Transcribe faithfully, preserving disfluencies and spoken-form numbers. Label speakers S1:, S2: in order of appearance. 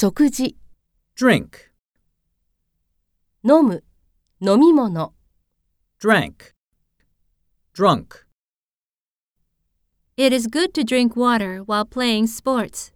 S1: 食事、
S2: drink,
S1: 飲む、飲み物。
S2: drank, drunk.
S3: It is good to drink water while playing sports.